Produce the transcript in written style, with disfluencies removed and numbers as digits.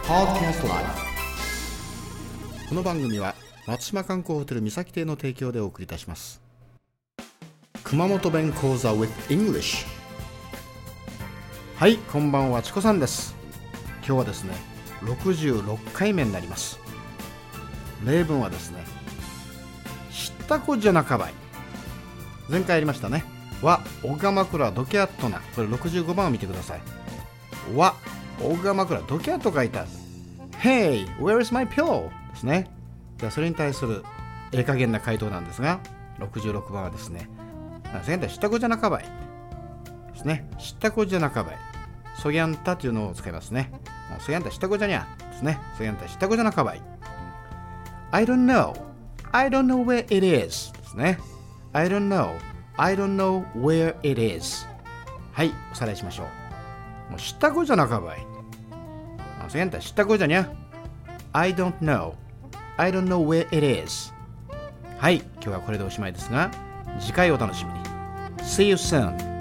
Podcast Live。この番組は松島観光ホテル三崎邸の提供でお送りいたします。熊本弁講座 with English。 はい、こんばんは、チコさんです。今日はですね66回目になります。例文はですね、知ったこじゃなかばい。前回やりましたね。わ、おがまくらどきゃっとな。これ65番を見てください。わ、おがまくらどきゃっと書いてある。Hey, where is my pillow? ですね。じゃあそれに対する加減な回答なんですが、66番はですね、現在知ったこじゃなかばいですね。知ったこじゃなかばい。そぎゃんたというのを使いますね。そぎゃんた知ったこじゃにゃですね。そぎゃんた知ったこじゃなかばい。I don't know where it is ですね。I don't know where it is。 はい、おさらいしましょう。もう知ったこじゃなかばい。そぎゃんた知ったこじゃにゃ。I don't know where it is。 はい、今日はこれでおしまいですが、次回お楽しみに。See you soon。